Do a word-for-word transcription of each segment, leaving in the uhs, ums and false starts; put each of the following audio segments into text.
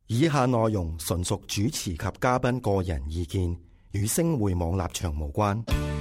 以下內容純屬主持及嘉賓個人意見，與星匯網立場無關。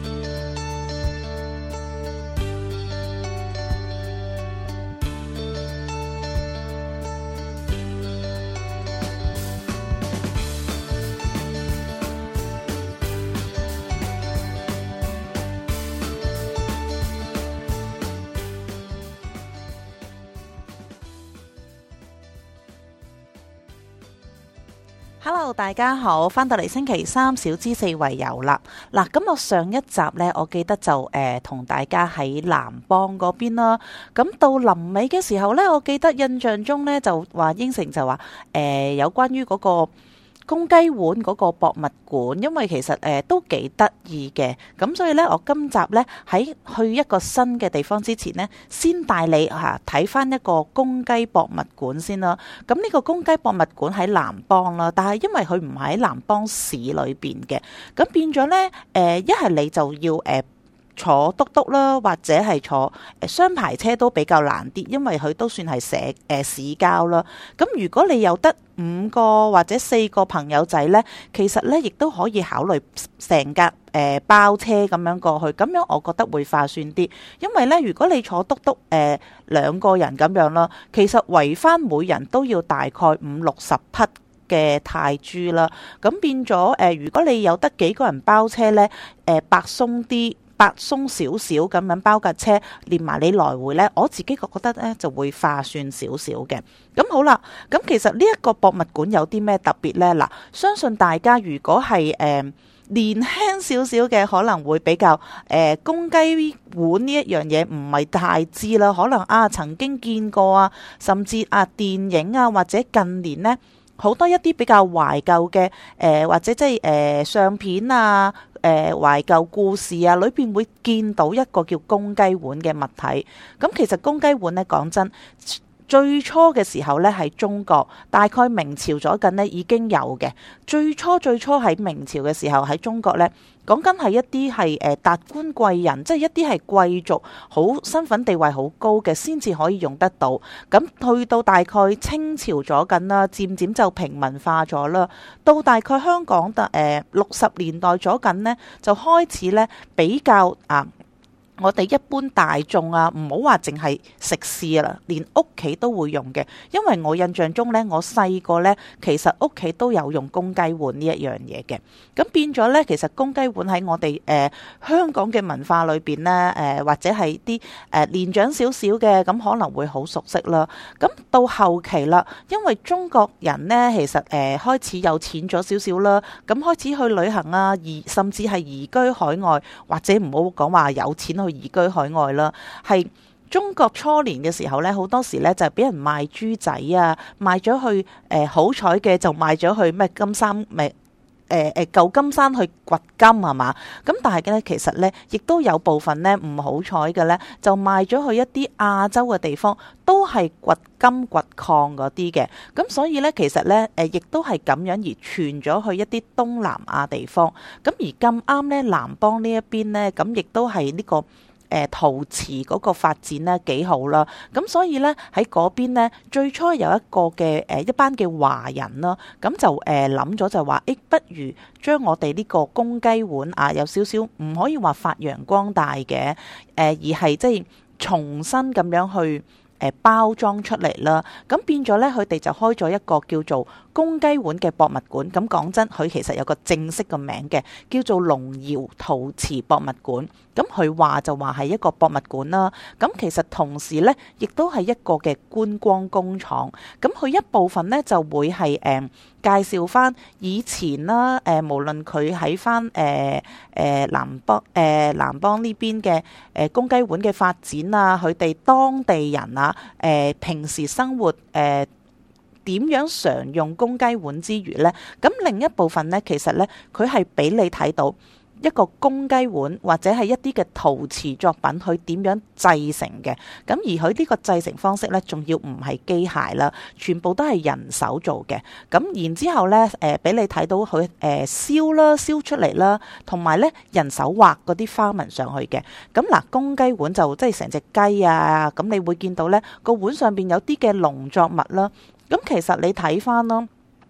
Hello， 大家好，翻到嚟星期三小資四圍遊啦。嗱，咁我上一集呢，我記得就誒同、呃、大家喺南邦嗰邊啦。咁到臨尾嘅時候呢，我記得印象中呢，就話應承就話誒、呃、有關於嗰、嗰個公雞碗嗰個博物館，因為其實誒、呃、都幾得意嘅，咁所以呢，我今集呢喺去一個新嘅地方之前呢，先帶你嚇睇翻一個公雞博物館先啦。咁呢個公雞博物館喺南邦啦，但係因為佢唔喺南邦市裏邊嘅，咁變咗呢，誒一係你就要誒。呃坐篤篤啦，或者係坐誒雙排車都比較難啲，因為佢都算係社誒、呃、市郊啦。咁如果你有得五個或者四個朋友仔呢，其實呢亦都可以考慮成架誒包車咁樣過去，咁樣我覺得會划算啲。因為呢，如果你坐篤篤誒兩個人咁樣啦，其實圍翻每人都要大概五六十匹嘅泰銖啦。咁變咗誒、呃，如果你有得幾個人包車呢，誒、呃、白鬆啲。白鬆少少咁樣包架車，連埋你來回呢，我自己覺得呢就會划算少少嘅。咁好啦，咁其實呢一個博物館有啲咩特別呢？嗱，相信大家如果係誒、呃、年輕少少嘅，可能會比較誒、呃、公雞碗呢一樣嘢唔係太知啦，可能啊曾經見過啊，甚至啊電影啊或者近年呢，好多一啲比較懷舊嘅誒或者即係誒相片啊。誒、呃、懷舊故事啊，裏邊會見到一個叫公雞碗嘅物體。咁其實公雞碗呢，講真，最初嘅時候呢係中國，大概明朝咗緊呢已經有嘅。最初最初喺明朝嘅時候喺中國呢，講緊係一啲係誒達官貴人，即係一啲係貴族，好身份地位好高嘅，先至可以用得到。咁去到大概清朝咗緊啦，漸漸就平民化咗啦。到大概香港嘅誒六十年代咗緊呢，就開始呢比較啊。我哋一般大眾啊，唔好話淨係食肆啦，連屋企都會用嘅。因為我印象中呢，我細個呢，其實屋企都有用公雞碗呢一樣嘢嘅。咁變咗呢，其實公雞碗喺我哋誒、呃、香港嘅文化裏邊呢，誒、呃、或者係啲誒年長少少嘅，咁可能會好熟悉啦。咁到後期啦，因為中國人呢，其實誒、呃、開始有錢咗少少啦，咁開始去旅行啊，移甚至係移居海外，或者唔好講話有錢去移居海外啦，係中國初年嘅時候呢，好多時呢就係俾人賣豬仔啊，賣咗去誒、呃、好彩嘅就賣咗去咩金山咩誒誒舊金山去掘金係嘛，咁但係呢，其實呢亦都有部分呢唔好彩嘅呢，就賣咗去一啲亞洲嘅地方，都係掘金掘礦嗰啲嘅，咁所以呢，其實呢，誒亦都係咁樣而傳咗去一啲東南亞地方，咁而咁啱呢，南邦呢一邊呢，咁亦都係呢、這個。誒陶瓷嗰個發展咧幾好啦，咁所以咧喺嗰邊咧最初有一個嘅誒一班嘅華人啦，咁就誒諗咗就話，誒不如將我哋呢個公雞碗啊，有少少唔可以話發揚光大嘅，誒而係即係重新咁樣去誒包裝出嚟啦，咁變咗咧佢哋就開咗一個叫做公雞碗嘅博物館。咁講真，佢其實有個正式嘅名嘅，叫做龍窯陶瓷博物館。咁佢話就話係一個博物館啦。咁其實同時呢，亦都係一個嘅觀光工廠。咁佢一部分呢，就會係誒、呃、介紹翻以前啦，誒、呃、無論佢喺翻誒誒南邦誒、呃、南邦呢邊嘅誒公雞碗嘅發展啊，佢哋當地人啊，誒、呃、平時生活誒。呃點樣常用公雞碗之餘呢？咁另一部分呢，其實呢，佢係俾你睇到一個公雞碗或者係一啲嘅陶瓷作品，佢點樣製成嘅。咁而佢呢個製成方式呢，仲要唔係機械啦，全部都係人手做嘅。咁然之後呢，誒、呃、俾你睇到佢誒、呃、燒啦，燒出嚟啦，同埋呢人手畫嗰啲花紋上去嘅。咁嗱，公雞碗就即係成隻雞啊，咁你會見到呢個碗上邊有啲嘅農作物啦。咁其實你睇翻咯，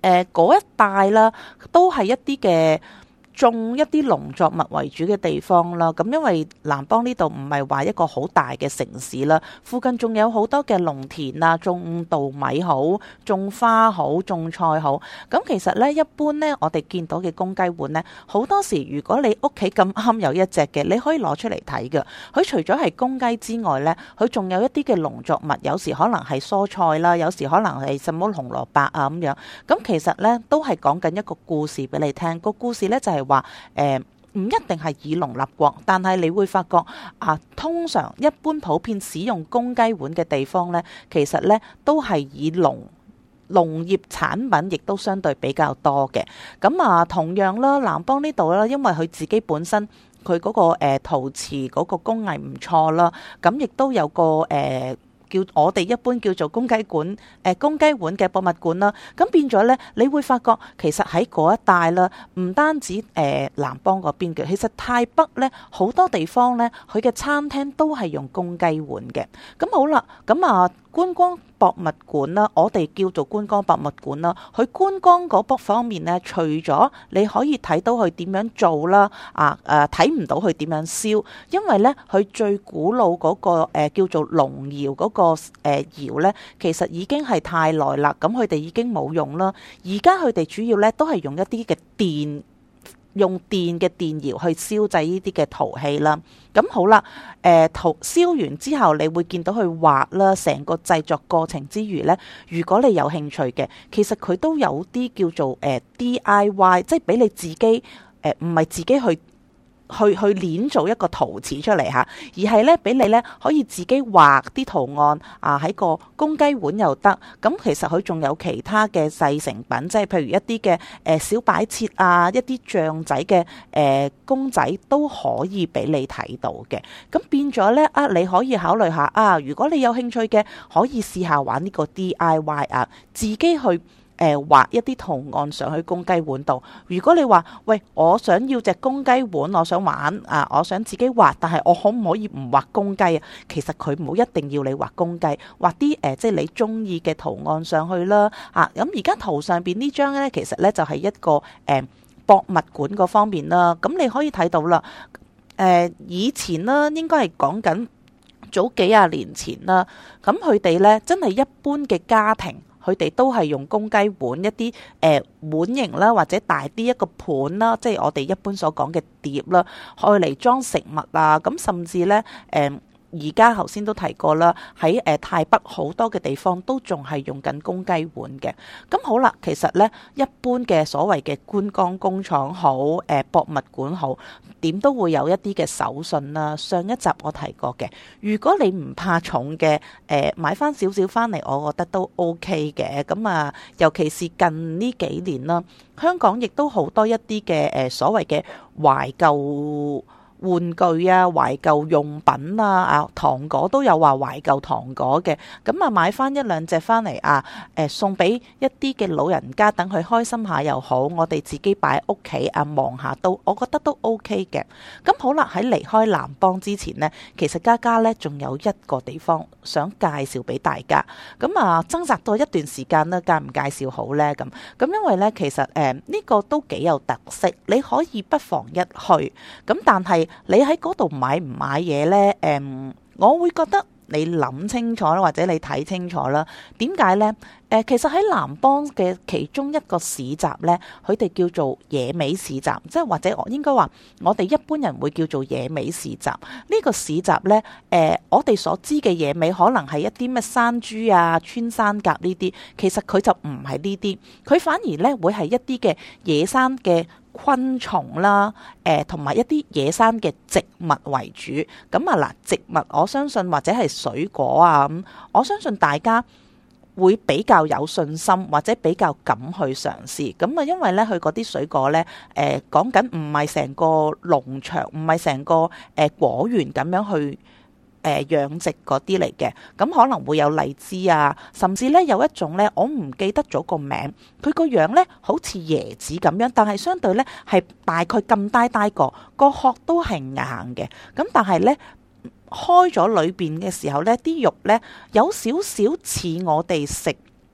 誒嗰一帶啦，都係一啲嘅種一啲農作物為主嘅地方啦，咁因為南邦呢度唔係話一個好大嘅城市啦，附近仲有好多嘅農田啊，種稻米好，種花好，種菜好。咁其實呢，一般呢，我哋見到嘅公雞碗呢，好多時如果你屋企咁啱有一隻嘅，你可以攞出嚟睇嘅。佢除咗係公雞之外呢，佢仲有一啲嘅農作物，有時可能係蔬菜啦，有時可能係什麼紅蘿蔔啊咁樣。咁其實呢，都係講緊一個故事俾你聽。個故事呢，就係話誒唔一定係以農立國，但係你會發覺啊，通常一般普遍使用公雞碗嘅地方呢，其實呢都係以農農業產品，亦都相對比較多嘅。咁啊，同樣啦，南邦呢度啦，因為佢自己本身佢嗰、嗰個誒、呃、陶瓷嗰個工藝唔錯啦，咁亦都有個誒。呃叫我哋一般叫做公雞館，誒、呃、公雞碗嘅博物館啦，咁變咗呢，你會發覺其實喺嗰一帶啦，唔單止誒、呃、南邦嗰邊嘅，其實泰北呢好多地方呢，佢嘅餐廳都係用公雞碗嘅。咁好啦，咁啊觀光博物館啦，我哋叫做觀光博物館啦，佢觀光嗰方方面呢，除咗你可以睇到佢點樣做啦，啊誒睇唔到佢點樣燒，因為呢，佢最古老嗰、嗰個、呃、叫做龍窯嗰、嗰個誒窯呢，其實已經係太耐啦，咁佢哋已經冇用啦。而家佢哋主要呢，都係用一啲嘅電。用電嘅電窯去燒製呢啲嘅陶器啦，咁好啦，誒、呃、陶燒完之後，你會見到佢滑啦，成個製作過程之餘呢，如果你有興趣嘅，其實佢都有啲叫做誒、呃、D I Y， 即係俾你自己誒唔係自己去。去去捏做一個陶瓷出嚟嚇，而係咧俾你咧可以自己畫啲圖案啊，喺個公雞碗又得。咁其實佢仲有其他嘅製成品，即係譬如一啲嘅誒小擺設啊，一啲象仔嘅誒、呃、公仔都可以俾你睇到嘅。咁變咗咧啊，你可以考慮下啊，如果你有興趣嘅，可以試下玩呢個 D I Y 啊，自己去。誒、呃、畫一啲圖案上去公雞碗度。如果你話喂，我想要隻公雞碗，我想玩啊，我想自己畫，但係我可唔可以唔畫公雞啊？其實佢冇一定要你畫公雞，畫啲誒、呃、即係你中意嘅圖案上去啦。啊，咁而家圖上邊呢張咧，其實咧就係、是、一個誒、呃、博物館嗰方面啦。咁你可以睇到啦。誒、呃、以前啦，應該係講緊早幾廿年前啦。咁佢哋咧真係一般嘅家庭。佢哋都係用公雞碗一啲誒、呃、碗型啦，或者大啲一個盤啦，即係我哋一般所講嘅碟啦，愛嚟裝食物啊。咁甚至咧誒。呃而家頭先都提過啦，喺誒泰北好多嘅地方都仲係用緊公雞碗嘅。咁好啦，其實呢，一般嘅所謂嘅觀光工廠好，誒、呃、博物館好，點都會有一啲嘅手信啦。上一集我提過嘅，如果你唔怕重嘅，誒、呃、買翻少少翻嚟，我覺得都 OK 嘅。咁啊，尤其是近呢幾年啦，香港亦都好多一啲嘅誒所謂嘅懷舊玩具啊、懷舊用品啊、啊糖果都有話懷舊糖果嘅，咁啊買翻一兩隻翻嚟啊，誒、呃、送俾一啲嘅老人家，等佢開心下又好，我哋自己擺喺屋企啊望下都，我覺得都 OK 嘅。咁好啦，喺離開南邦之前呢，其實嘉嘉呢仲有一個地方想介紹俾大家，咁啊掙扎咗一段時間呢，介唔介紹好呢？咁咁因為呢，其實誒呢、呃呢個都幾有特色，你可以不妨一去，咁但係。你喺嗰度買唔買嘢呢？誒、嗯，我會覺得你諗清楚啦，或者你睇清楚啦。點解呢？誒、呃，其實喺南邦嘅其中一個市集呢，佢哋叫做野味市集，即係或者我應該話，我哋一般人會叫做野味市集。呢、這個市集呢，誒、呃，我哋所知嘅野味可能係一啲咩山豬啊、穿山甲呢啲，其實佢就唔係呢啲，佢反而呢會係一啲嘅野生嘅昆蟲啦，誒同埋一啲野生嘅植物為主。咁啊嗱，植物我相信或者係水果啊咁，我相信大家會比較有信心或者比較敢去嘗試。咁啊，因為咧佢嗰啲水果咧，誒講緊唔係成個農場，唔係成個誒、呃、果園咁樣去。誒、呃、養殖嗰啲嚟嘅，咁可能會有荔枝啊，甚至咧有一種咧，我唔記得咗個名，佢個樣咧好似椰子咁樣，但係相對咧係大概咁大大個，個殼都係硬嘅，咁但係咧開咗裏邊嘅時候咧，啲肉咧有少少似我哋食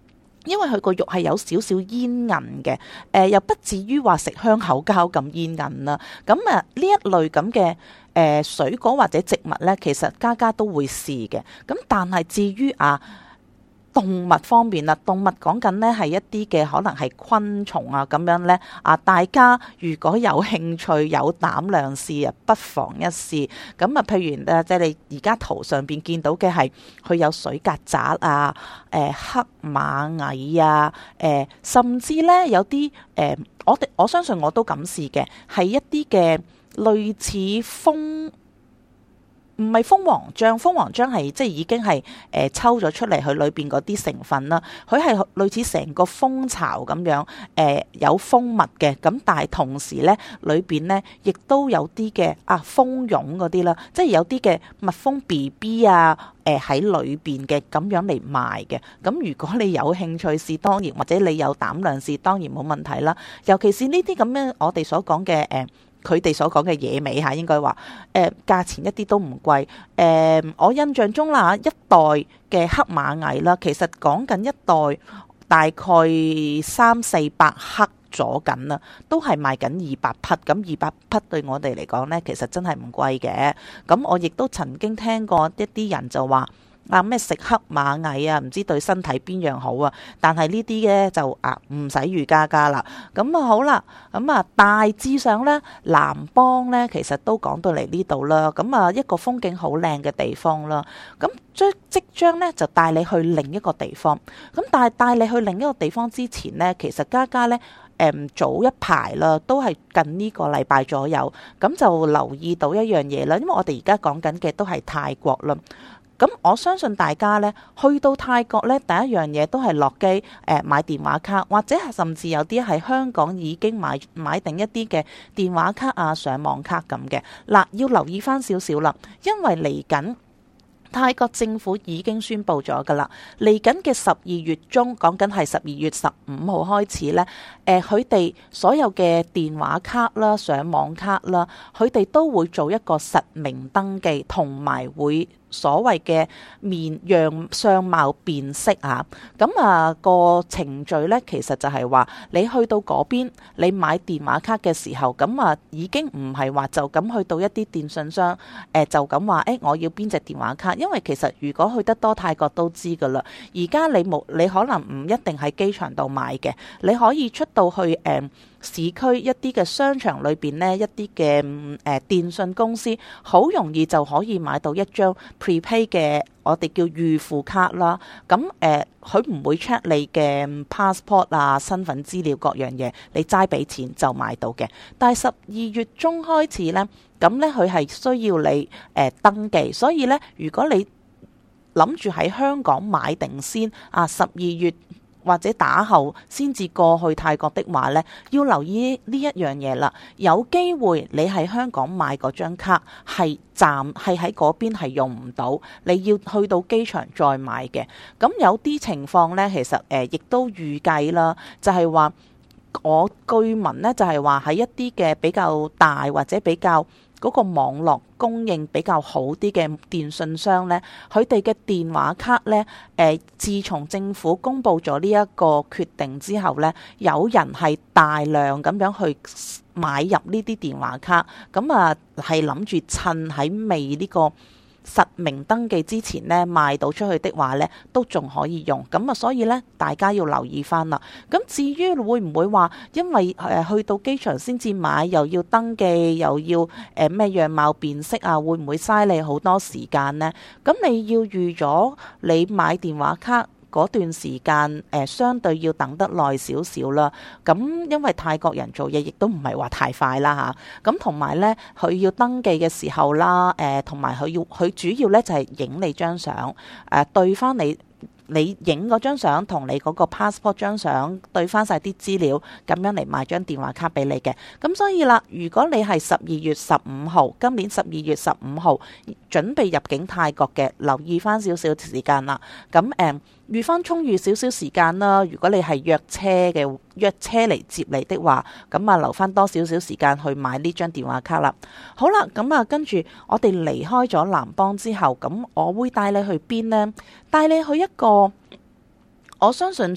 因為佢個肉係有少少煙韌嘅，誒、呃、又不至於話食香口膠咁煙韌啦。咁啊呢一類咁嘅誒水果或者植物呢，其實家家都會試嘅。咁但係至於啊動物方面啦，動物講緊呢係一啲嘅可能係昆蟲啊咁樣呢。啊，大家如果有興趣有膽量試啊，不妨一試。咁啊，譬如誒，即係你而家圖上邊見到嘅係佢有水曱甴啊、誒、呃、黑螞蟻啊、誒、呃、甚至呢有啲誒、呃，我哋我相信我都敢試嘅，係一啲嘅類似蜂。唔係蜂王漿，蜂王漿係即係已經係誒、呃、抽咗出嚟，佢裏邊嗰啲成分啦，佢係類似成個蜂巢咁樣，誒、呃、有蜂蜜嘅，咁但係同時咧裏邊咧亦都有啲嘅啊蜂蛹嗰啲啦，即係有啲嘅蜜蜂 B B 啊，誒喺裏邊嘅咁樣嚟賣嘅。咁如果你有興趣試，當然或者你有膽量試，當然冇問題啦。尤其是呢啲咁樣我哋所講嘅誒。呃佢哋所講嘅野味嚇，應該話誒價錢一啲都唔貴。誒、呃、我印象中啦，一袋嘅黑螞蟻啦，其實講緊一袋大概三四百克咗緊啦，都係賣緊二百匹。咁二百匹對我哋嚟講呢，其實真係唔貴嘅。咁我亦都曾經聽過一啲人就話。啊咩食黑螞蟻啊，唔知對身體邊樣好啊？但係呢啲嘅就啊唔使預加加啦。咁啊好啦，咁啊大致上呢，南邦呢其實都講到嚟呢度啦。咁啊一個風景好靚嘅地方啦。咁將即將呢就帶你去另一個地方。咁但係帶你去另一個地方之前呢，其實家家呢，誒、嗯、早一排啦，都係近呢個禮拜左右，咁就留意到一樣嘢啦。因為我哋而家講緊嘅都係泰國啦。咁我相信大家咧去到泰國咧，第一樣嘢都係落機誒、呃、買電話卡，或者係甚至有啲喺香港已經買買定一啲嘅電話卡啊、上網卡咁嘅。嗱，要留意翻少少啦，因為嚟緊泰國政府已經宣布咗噶啦，嚟緊嘅十二月中，講緊係十二月十五號開始咧，誒佢哋所有嘅電話卡啦、上網卡啦，佢哋都會做一個實名登記，同埋會。所謂嘅面樣相貌辨識啊，咁啊個程序呢，其實就係話你去到嗰邊，你買電話卡嘅時候，咁啊已經唔係話就咁去到一啲電信商，誒、呃、就咁話誒我要邊隻電話卡，因為其實如果去得多泰國都知㗎啦，而家你冇你可能唔一定喺機場度買嘅，你可以出到去誒。呃市區一啲嘅商場裏邊呢，一啲嘅誒電信公司好容易就可以買到一張 prepay 嘅我哋叫預付卡啦。咁誒，佢、呃、唔會 check 你嘅 passport 啊、身份資料各樣嘢，你齋俾錢就買到嘅。但係十二月中開始呢，咁呢，佢係需要你誒、呃、登記，所以呢，如果你諗住喺香港買定先啊，十二月。或者打後先至過去泰國的話呢，要留意呢一樣嘢啦。有機會你喺香港買嗰張卡係暫係喺嗰邊係用唔到，你要去到機場再買嘅。咁有啲情況呢，其實誒亦、呃、都預計啦，就係、是、話我據聞呢，就係話喺一啲嘅比較大或者比較嗰個網絡供應比較好啲嘅電信商呢，佢哋嘅電話卡呢，誒、呃，自從政府公布咗呢一個決定之後呢，有人係大量咁樣去買入呢啲電話卡，咁啊係諗住趁喺未呢個實名登記之前呢，賣到出去的話呢，都仲可以用。咁啊，所以呢，大家要留意翻啦。咁至於會唔會話因為誒、呃、去到機場先至買，又要登記，又要誒咩、呃、樣貌辨識啊，會唔會嘥你好多時間呢？咁你要預咗你買電話卡嗰段時間，誒、呃、相對要等得耐少少啦。咁因為泰國人做嘢亦都唔係話太快啦嚇。咁同埋呢，佢要登記嘅時候啦，誒同埋佢要佢主要呢就係、是、影你張相，誒、呃、對翻你。你影嗰張相同你嗰個 passport 張相對翻晒啲資料，咁樣嚟買張電話卡俾你嘅。咁所以啦，如果你係十二月十五號，今年十二月十五號準備入境泰國嘅，留意翻少少時間啦。咁誒預翻充裕少少時間啦。如果你係約車嘅，約車嚟接你的話，咁啊留翻多少少時間去買呢張電話卡啦。好啦，咁啊跟住我哋離開咗南邦之後，咁我會帶你去邊呢？帶你去一個我相信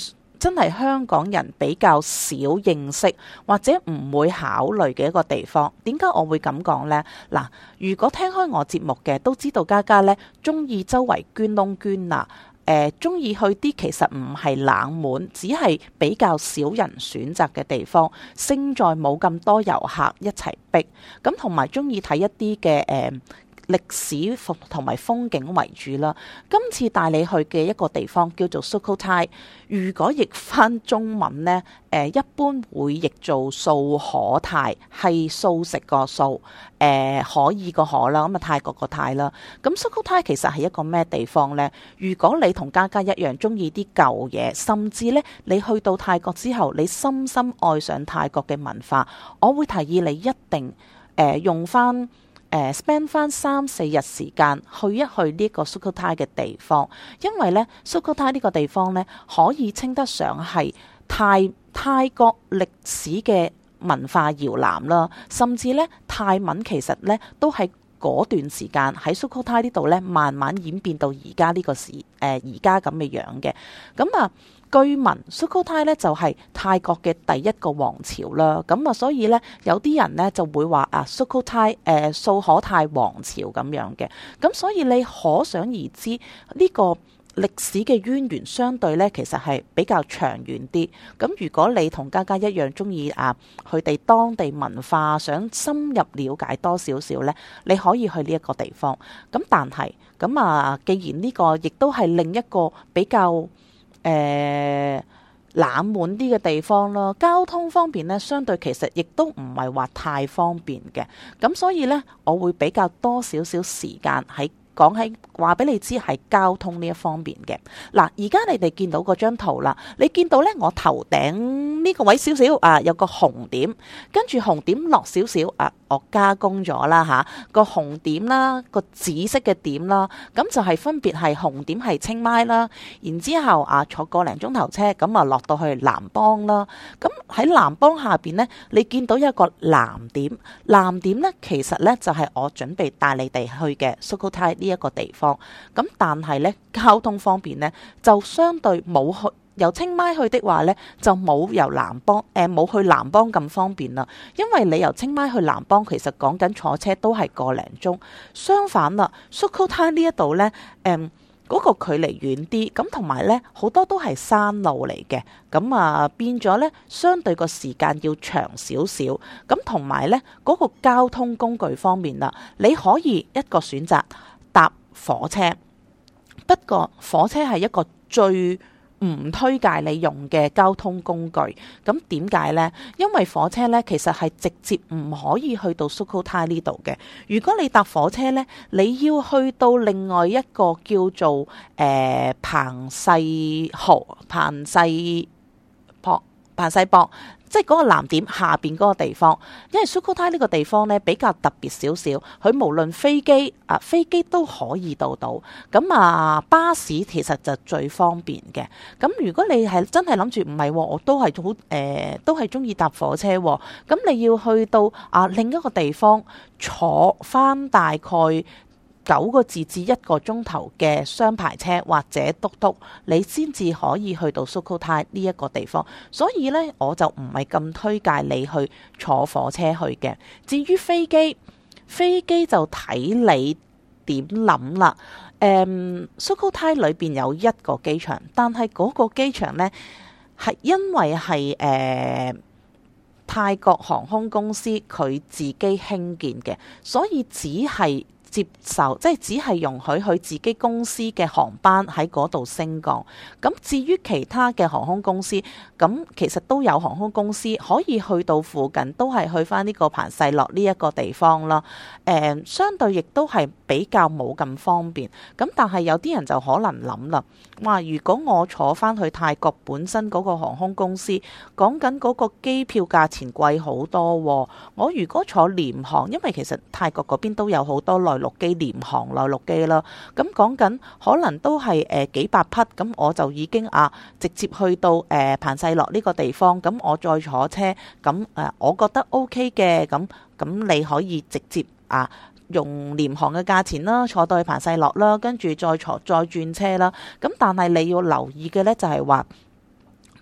真係香港人比較少認識或者唔會考慮嘅一個地方。點解我會咁講呢？嗱，如果聽開我節目嘅都知道嘉嘉呢中意周圍捐窿捐罅。誒中意去啲其實唔係冷門，只係比較少人選擇嘅地方，勝在冇咁多遊客一齊逼。咁同埋中意睇一啲嘅誒歷史同埋風景為主啦。今次帶你去嘅一個地方叫做 Sukhothai， 如果譯翻中文呢，誒一般會譯做素可泰，係素食個素，誒可以個可啦，咁啊泰國個泰啦。咁 Sukhothai 其實係一個咩地方呢？如果你同嘉嘉一樣中意啲舊嘢，甚至呢你去到泰國之後，你深深愛上泰國嘅文化，我會提議你一定誒、呃、用翻。誒 spend 翻三四日時間去一去呢個 Sukhothai 嘅地方，因為咧 Sukhothai 呢個地方咧可以稱得上係泰泰國歷史嘅文化搖籃啦，甚至咧泰文其實咧都係嗰段時間喺 Sukhothai 呢度咧慢慢演變到而家呢個時誒而家咁嘅樣嘅。咁啊據聞 Sukhothai 咧就係泰國嘅第一個王朝啦，咁啊所以咧有啲人咧就會話啊 Sukhothai 誒素可泰王朝咁樣嘅，咁所以你可想而知呢個歷史嘅淵源相對咧其實係比較長遠啲。咁如果你同嘉嘉一樣中意啊佢哋當地文化，想深入了解多少少咧，你可以去呢一個地方。咁但係咁啊，既然呢個亦都係另一個比較誒、呃、冷門啲嘅地方咯，交通方面呢，相對其實亦都唔係話太方便嘅，咁所以呢，我會比較多少少時間喺講喺話俾你知係交通呢一方面嘅。嗱，而家你哋見到嗰張圖啦，你見到呢，我頭頂呢個位少少啊有個紅點，跟住紅點落少少啊，我加工咗啦嚇，個紅點啦，個紫色嘅點啦，咁就係分別係紅點係清邁啦，然之後啊坐個零鐘頭車咁啊落到去南邦啦，咁喺南邦下邊呢，你見到有一個藍點，藍點呢其實呢就係我準備帶你哋去嘅 Sukhothai呢一個地方，咁但係呢交通方面呢，就相對冇去。由清邁去的話呢，就冇由南邦誒冇、呃、去南邦咁方便啦。因為你由清邁去南邦，其實講緊坐車都係個零鐘。相反啦 Sukhothai 呢一度呢，誒、呃、嗰、那個距離遠啲，咁同埋呢好多都係山路嚟嘅，咁啊變咗呢，相對個時間要長少少。咁同埋呢嗰、那個交通工具方面啦，你可以一個選擇搭火車，不過火車係一個最唔推介你用嘅交通工具。咁點解呢？因為火車呢其實係直接唔可以去到 Sukhothai 呢度嘅。如果你搭火車呢，你要去到另外一個叫做誒、呃、彭世豪、彭世博、彭世博。即係嗰個藍點下邊嗰個地方，因為 Sukhothai 呢個地方呢比較特別少少，佢無論飛機啊飛機都可以到到，咁啊巴士其實就最方便嘅。咁如果你係真係諗住唔係，我都係好誒，都係中意搭火車，咁你要去到啊另一個地方坐翻大概九個字至一個鐘頭嘅雙排車或者嘟嘟，你先至可以去到 Sukhothai 呢一個地方。所以呢，我就唔係咁推介你去坐火車去嘅。至於飛機，飛機就睇你點諗啦。誒 Sukhothai 裏邊有一個機場，但係嗰個機場呢，係因為係誒、呃、泰國航空公司佢自己興建嘅，所以只係接受即係只係容許佢自己公司嘅航班喺嗰度升降。咁至於其他嘅航空公司，咁其實都有航空公司可以去到附近，都係去翻呢個彭世洛呢一個地方啦。誒、呃，相對亦都係比較冇咁方便。咁但係有啲人就可能諗啦，哇！如果我坐翻去泰國本身嗰個航空公司，講緊嗰個機票價錢貴好多喎。我如果坐廉航，因為其實泰國嗰邊都有好多內陸機、廉航內陸機啦，咁講緊可能都係誒、呃、幾百匹，咁我就已經啊直接去到誒、呃、彭世洛呢個地方，咁我再坐車，咁誒、呃、我覺得 OK 嘅，咁咁你可以直接啊用廉航嘅價錢啦，坐到去彭世洛啦，跟住再坐再轉車啦。咁但係你要留意嘅呢，就係話，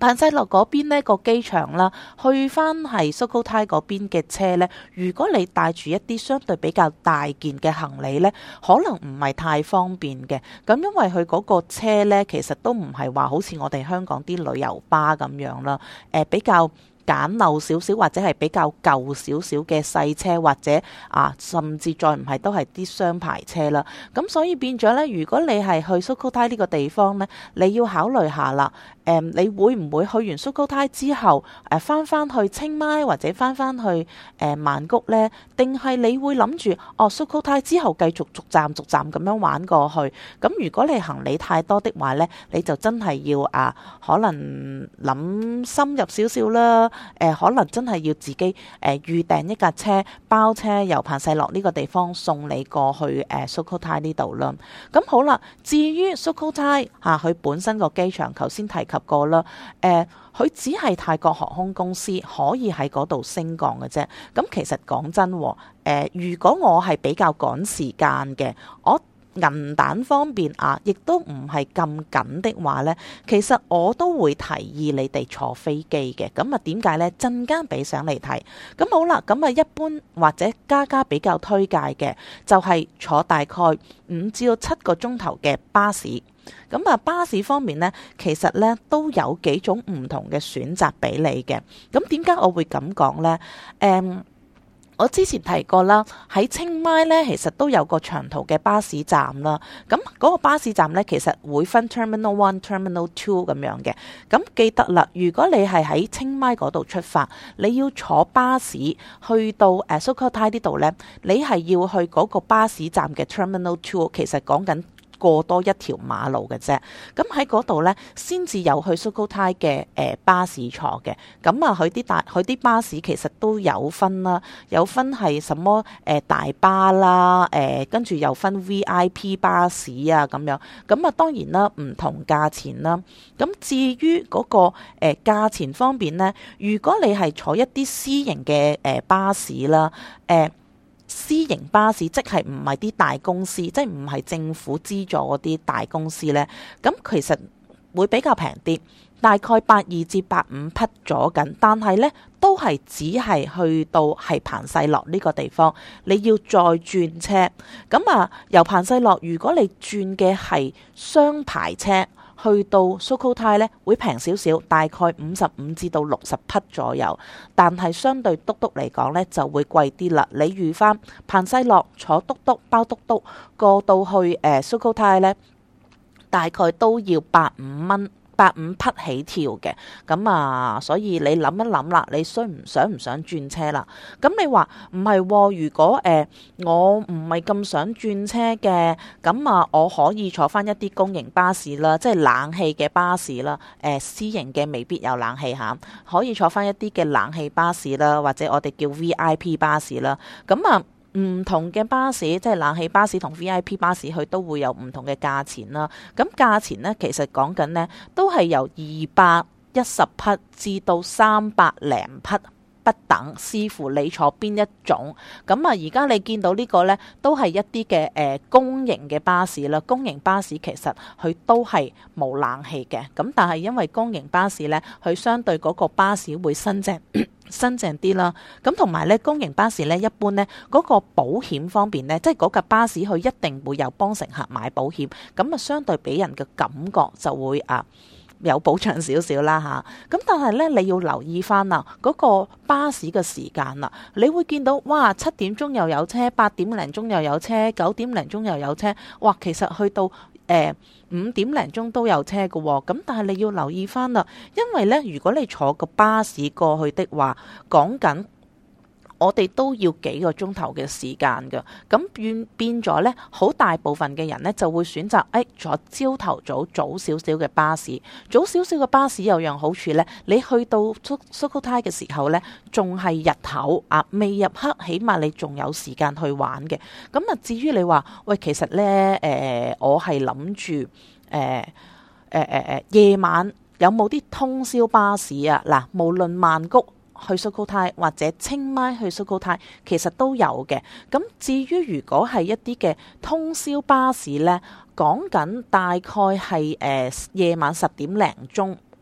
彭世洛嗰邊呢個機場啦，去翻係 Sukhothai 嗰邊嘅車呢，如果你帶住一啲相對比較大件嘅行李呢，可能唔係太方便嘅。咁因為佢嗰個車呢，其實都唔係話好似我哋香港啲旅遊巴咁樣啦，誒、呃、比較簡陋少少，或者係比較舊少少嘅細車，或者啊，甚至再唔係都係啲雙牌車啦。咁所以變咗呢，如果你係去 Sukhothai 呢個地方呢，你要考慮下啦。誒、嗯，你會唔會去完 Sukhothai 之後，誒翻翻去清邁或者翻翻去誒、呃、曼谷呢？定係你會諗住哦 Sukhothai 之後繼續逐站逐站咁樣玩過去？咁如果你行李太多的話呢，你就真係要啊，可能諗深入少少啦。誒、呃，可能真係要自己誒、呃、預訂一架車包車由彭世洛呢個地方送你過去誒、呃、Sukhothai 呢度啦。咁好啦，至於 Sukhothai 嚇佢本身個機場，頭先提及及過啦，誒、呃，佢只係泰國航空公司可以喺嗰度升降嘅啫。咁其實講真，誒、呃，如果我係比較趕時間嘅，我銀彈方面啊，亦都唔係咁緊的話呢，其實我都會提議你哋坐飛機嘅。咁啊，點解呢？陣間俾相嚟睇。咁好啦，咁啊，一般或者家家比較推介嘅就係坐大概五至到七個鐘頭嘅巴士。咁啊，巴士方面呢，其實呢都有幾種唔同嘅選擇俾你嘅。咁點解我會咁講呢？誒、um,。我之前提過啦，喺清邁咧，其實都有個長途嘅巴士站啦。咁嗰個巴士站咧，其實會分 Terminal One、Terminal Two 咁樣嘅。咁記得啦，如果你係喺清邁嗰度出發，你要坐巴士去到誒 Sukhothai 呢度咧，你係要去嗰個巴士站嘅 Terminal Two，其實講緊過多一條馬路嘅啫，咁喺嗰度呢，先至有去 Sukhothai 嘅誒巴士坐嘅。咁啊，佢啲大佢啲巴士其實都有分啦，有分係什麼誒、呃、大巴啦，誒跟住又分 V I P 巴士啊咁樣。咁啊，當然啦，唔同價錢啦。咁至於嗰、那個誒、呃、價錢方面呢，如果你係坐一啲私營嘅誒、呃、巴士啦，誒、呃。私營巴士即係唔係啲大公司，即係唔係政府資助嗰啲大公司呢。咁其實會比較平啲，大概百二至百五匹咗緊，但係呢都係只係去到係彭世洛呢個地方，你要再轉車。咁啊，由彭世洛如果你轉嘅係雙牌車，去到 Sukhothai 咧會平少少，大概五十五至到六十匹左右，但係相對嘟嘟嚟講咧就會貴啲啦。你預翻彭世洛坐嘟嘟包嘟嘟過到去誒 Sukhothai 咧，大概都要百五蚊。百五匹起跳嘅，咁啊，所以你諗一諗啦，你需唔想唔想轉車啦？咁你話唔係，如果誒、呃、我唔係咁想轉車嘅，咁啊，我可以坐翻一啲公營巴士啦，即係冷氣嘅巴士啦，誒、呃、私營嘅未必有冷氣嚇，可以坐翻一啲嘅冷氣巴士啦，或者我哋叫 V I P 巴士啦，咁啊。唔同嘅巴士，即係冷氣巴士同 V I P 巴士，佢都會有唔同嘅價錢啦。咁價錢呢，其實講緊呢，都係由二百一十匹至到三百零匹不等，視乎你坐邊一種。咁啊，而家你見到呢個呢，都係一啲嘅誒公營嘅巴士啦。公營巴士其實佢都係冇冷氣嘅。咁但係因為公營巴士呢，佢相對嗰個巴士會新淨。新淨啲啦，咁同埋咧，公營巴士咧，一般咧嗰個保險方面咧，即係嗰架巴士佢一定會有幫乘客買保險，咁啊相對俾人嘅感覺就會啊有保障少少啦吓。咁但係咧，你要留意翻啊嗰個巴士嘅時間啦，你會見到哇七點鐘又有車，八點零鐘又有車，九點零鐘又有車，哇其實去到誒五點零鐘都有車嘅喎，咁但係你要留意翻啦，因為呢，如果你坐個巴士過去的話，講緊我哋都要幾個鐘頭嘅時間㗎，咁變變咗呢，好大部分嘅人呢就會選擇誒、哎、坐朝頭早早少少嘅巴士，早少少嘅巴士有樣好處呢，你去到 Sukhothai 嘅時候呢，仲係日頭啊，未入黑，起碼你仲有時間去玩嘅。咁啊，至於你話喂，其實呢，誒、呃，我係諗住誒誒誒誒夜晚有冇啲通宵巴士啊？嗱，無論曼谷去 Sukhothai 或者清邁去 Sukhothai，其實都有嘅。咁至於如果係一啲嘅通宵巴士呢，講緊大概係誒、呃、夜晚十點零鐘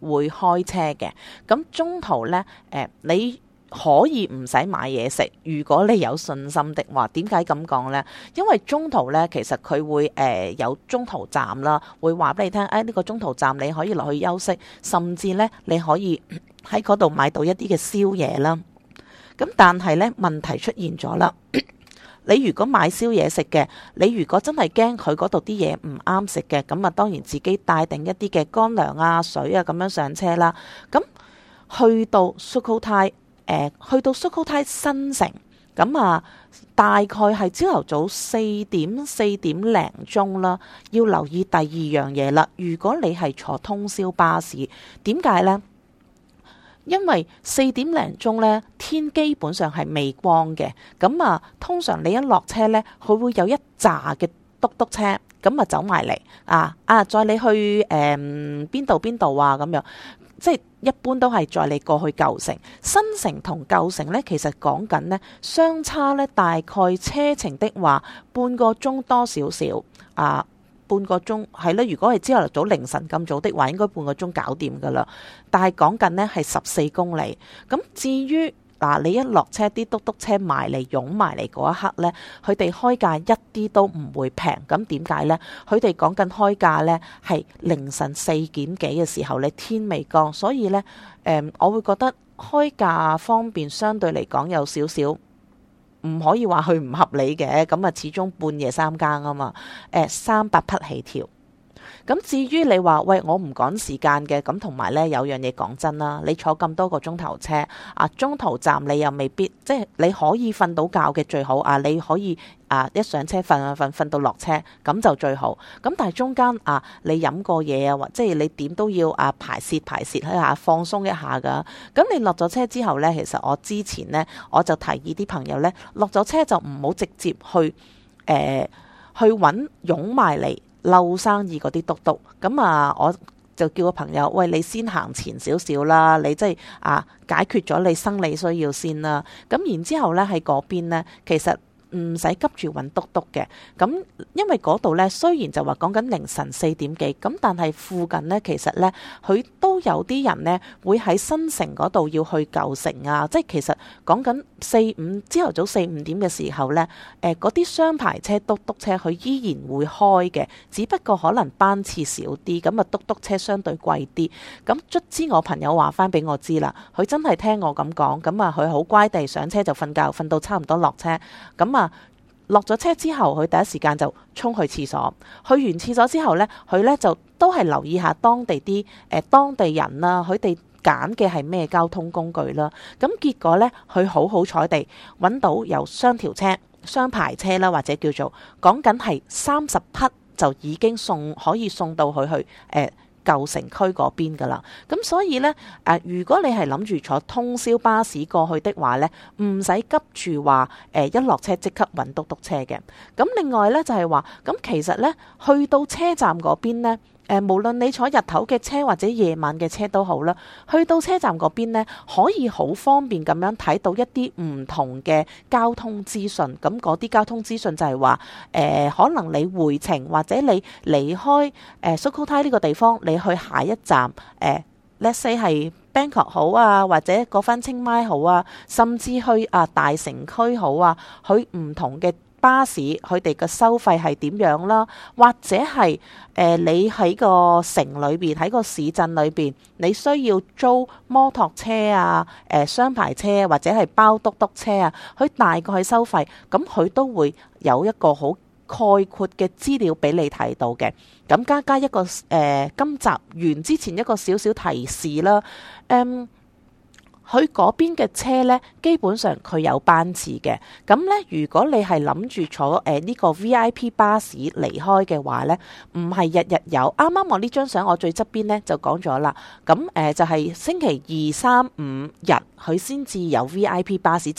會開車嘅。咁中途呢，誒、呃、你可以唔使買嘢食，如果你有信心的話。點解咁講呢？因為中途呢，其實佢會誒、呃、有中途站啦，會話俾你聽，誒、哎、呢、這個中途站你可以落去休息，甚至呢，你可以喺嗰度買到一啲嘅宵夜啦。咁但係呢，問題出現咗啦。你如果買宵夜食嘅，你如果真係驚佢嗰度啲嘢唔啱食嘅，咁啊當然自己帶定一啲嘅乾糧啊、水啊咁樣上車啦。咁去到 Sukhothai，誒去到 Sukhothai 新城，咁啊大概係朝頭早四點四點零鐘啦。要留意第二樣嘢啦，如果你係坐通宵巴士，點解呢？因為四點零鐘呢，天基本上係未光嘅，咁啊，通常你一落車呢，佢會有一紮嘅嘟嘟車，咁啊走埋嚟啊啊，載你去誒邊度邊度啊咁樣，即係一般都係載你過去舊城。新城同舊城呢，其實講緊呢，相差呢大概車程的話半個鐘多少少啊。半個鐘係啦，如果係朝頭早凌晨咁早的話，應該半個鐘搞掂噶啦。但係講緊呢係十四公里。咁至於嗱，你一落車啲嘟嘟車埋嚟湧埋嚟嗰一刻呢，佢哋開價一啲都唔會平。咁點解呢？佢哋講緊開價呢係凌晨四點幾嘅時候，你天未光，所以呢，誒，我會覺得開價方面相對嚟講有少少。唔可以話佢唔合理嘅，咁啊始終半夜三更啊嘛，誒三百匹起跳。咁至於你話喂，我唔趕時間嘅，咁同埋呢有樣嘢講真啦，你坐咁多個鐘頭車啊，中途站你又未必，即係你可以瞓到覺嘅最好啊，你可以啊一上車瞓啊瞓瞓到落車咁就最好。咁但係中間啊，你飲過嘢啊，或即係你點都要啊排泄排泄一下，放鬆一下噶。咁你落咗車之後呢，其實我之前呢，我就提議啲朋友呢，落咗車就唔好直接去誒、呃、去揾擁埋嚟嬲生意嗰啲嘟嘟，咁啊我就叫個朋友，喂，你先行前少少啦，你即係啊解決咗你生理需要先啦。咁然之後咧喺嗰邊咧，其實唔使急住揾嘟嘟嘅。咁因為嗰度咧雖然就話講緊凌晨四點幾，咁但係附近咧其實咧佢都有啲人咧會喺新城嗰度要去舊城啊，即係其實講緊四五朝頭早四五點嘅時候咧，誒嗰啲雙排車嘟嘟車佢依然會開嘅，只不過可能班次少啲，咁啊嘟嘟車相對貴啲。咁卒之我朋友話翻俾我知啦，佢真係聽我咁講，咁啊佢好乖地上車就瞓覺，瞓到差唔多落車，咁啊落咗車之後，佢第一時間就衝去廁所。去完廁所之後呢，佢呢就都係留意下當地啲誒、呃、當地人啦，佢哋揀嘅係咩交通工具啦。咁結果呢，佢好好彩地揾到有雙條車、雙排車啦，或者叫做講緊係三十匹就已經送可以送到佢去誒。呃舊城區嗰邊噶啦，咁所以呢，誒、呃，如果你係諗住坐通宵巴士過去的話呢，唔使急住話誒一落車即刻揾嘟嘟車嘅。咁另外呢，就係話，咁其實呢，去到車站嗰邊呢，誒、呃，無論你坐日頭嘅車或者夜晚嘅車都好啦，去到車站嗰邊呢，可以好方便咁樣睇到一啲唔同嘅交通資訊。咁嗰啲交通資訊就係話，誒、呃，可能你回程或者你離開誒 Sukhothai 呢個地方，你去下一站，誒、呃、let's say 係 Bangkok 好啊，或者嗰番清邁好啊，甚至去啊大城區好啊，去唔同嘅巴士佢哋嘅收費係點樣啦？或者係誒、呃、你喺個城裏邊喺個市鎮裏邊，你需要租摩托車啊、誒、呃、雙排車或者係包嘟嘟車啊，佢大概係收費，咁佢都會有一個好概括嘅資料俾你睇到嘅。咁加加一個誒、呃、今集完之前一個少少提示啦，嗯。佢嗰邊嘅車呢，基本上佢有班次嘅。咁呢，如果你係諗住坐誒呢、呃呢個 V I P 巴士離開嘅話呢，唔係日日有。啱啱我呢張相我最側邊呢就講咗啦。咁誒、呃、就係、是、星期二、三、五日佢先至有 V I P 巴士，即係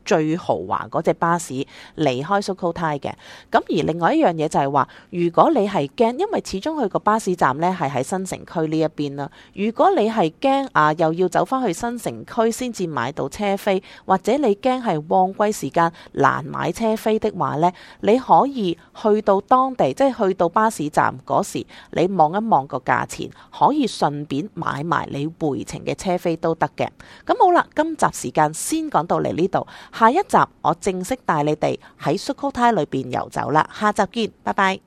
最豪華嗰隻巴士離開 Sukhothai 嘅。咁而另外一樣嘢就係話，如果你係驚，因為始終佢個巴士站呢係喺新城區呢一邊啦。如果你係驚啊，又要走翻去新城區先至買到車飛，或者你驚係旺季時間難買車飛的話呢，你可以去到當地，即係去到巴士站嗰時，你望一望個價錢，可以順便買埋你回程嘅車飛都得嘅。咁好啦，今集時間先講到嚟呢度，下一集我正式帶你哋喺 Sukhothai 裏邊遊走啦，下集見，拜拜。